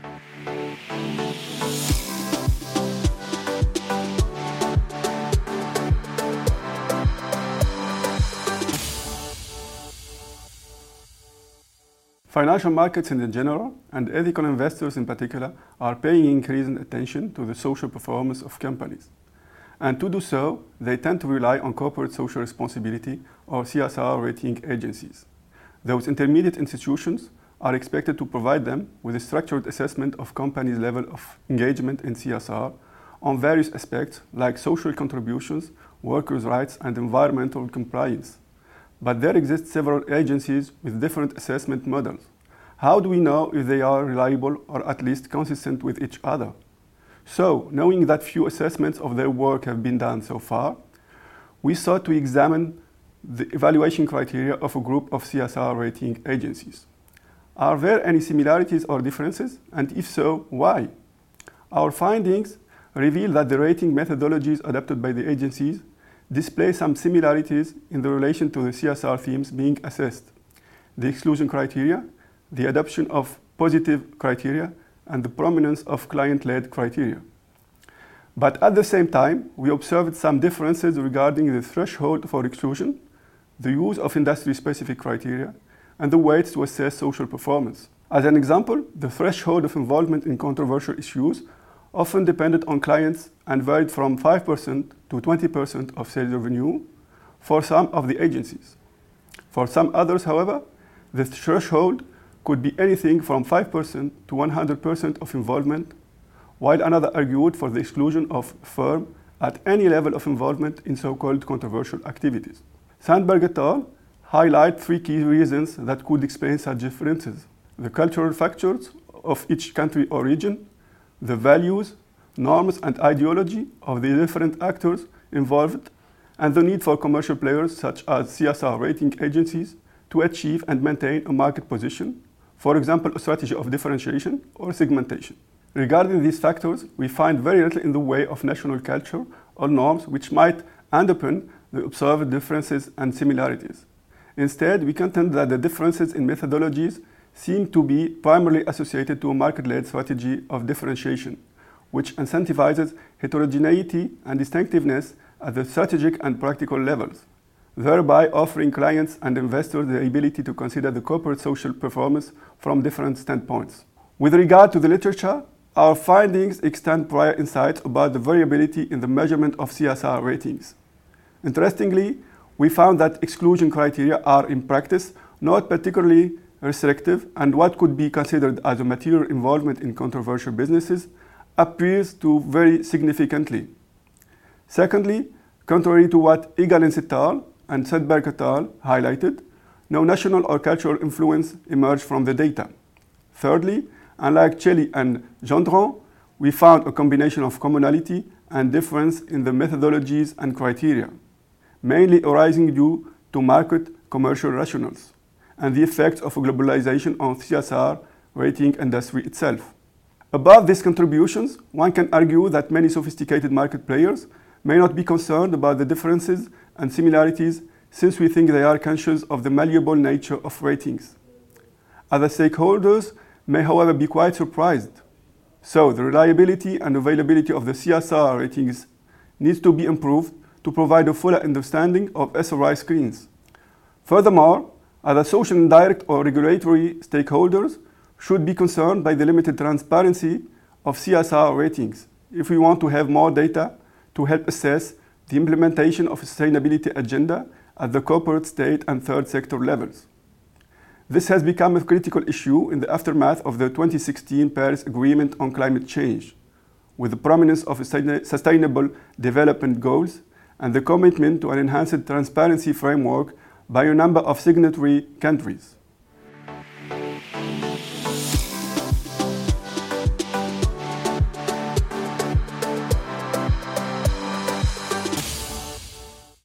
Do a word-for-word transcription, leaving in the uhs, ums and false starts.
Financial markets in general, and ethical investors in particular, are paying increasing attention to the social performance of companies. And to do so, they tend to rely on corporate social responsibility or C S R rating agencies. Those intermediate institutions are expected to provide them with a structured assessment of companies' level of engagement in C S R on various aspects like social contributions, workers' rights, and environmental compliance. But there exist several agencies with different assessment models. How do we know if they are reliable or at least consistent with each other? So, knowing that few assessments of their work have been done so far, we sought to examine the evaluation criteria of a group of C S R rating agencies. Are there any similarities or differences? And if so, why? Our findings reveal that the rating methodologies adopted by the agencies display some similarities in the relation to the C S R themes being assessed, the exclusion criteria, the adoption of positive criteria, and the prominence of client-led criteria. But at the same time, we observed some differences regarding the threshold for exclusion, the use of industry-specific criteria, and the weights to assess social performance. As an example, the threshold of involvement in controversial issues often depended on clients and varied from five percent to twenty percent of sales revenue for some of the agencies. For some others, however, the threshold could be anything from five percent to one hundred percent of involvement, while another argued for the exclusion of a firm at any level of involvement in so-called controversial activities. Sandberg et al. Highlight three key reasons that could explain such differences: the cultural factors of each country or region, the values, norms, and ideology of the different actors involved, and the need for commercial players such as C S R rating agencies to achieve and maintain a market position, for example, a strategy of differentiation or segmentation. Regarding these factors, we find very little in the way of national culture or norms which might underpin the observed differences and similarities. Instead, we contend that the differences in methodologies seem to be primarily associated to a market-led strategy of differentiation, which incentivizes heterogeneity and distinctiveness at the strategic and practical levels, thereby offering clients and investors the ability to consider the corporate social performance from different standpoints. With regard to the literature, our findings extend prior insights about the variability in the measurement of C S R ratings. Interestingly, we found that exclusion criteria are in practice not particularly restrictive, and what could be considered as a material involvement in controversial businesses appears to vary significantly. Secondly, contrary to what Egalins et al. And Sandberg et al. Highlighted, no national or cultural influence emerged from the data. Thirdly, unlike Chelly and Gendron, we found a combination of commonality and difference in the methodologies and criteria, mainly arising due to market commercial rationales and the effects of globalization on C S R rating industry itself. Above these contributions, one can argue that many sophisticated market players may not be concerned about the differences and similarities, since we think they are conscious of the malleable nature of ratings. Other stakeholders may, however, be quite surprised. So, the reliability and availability of the C S R ratings needs to be improved to provide a fuller understanding of S R I screens. Furthermore, other social indirect or regulatory stakeholders should be concerned by the limited transparency of C S R ratings if we want to have more data to help assess the implementation of a sustainability agenda at the corporate, state, and third sector levels. This has become a critical issue in the aftermath of the twenty sixteen Paris Agreement on Climate Change, with the prominence of sustainable development goals and the commitment to an enhanced transparency framework by a number of signatory countries.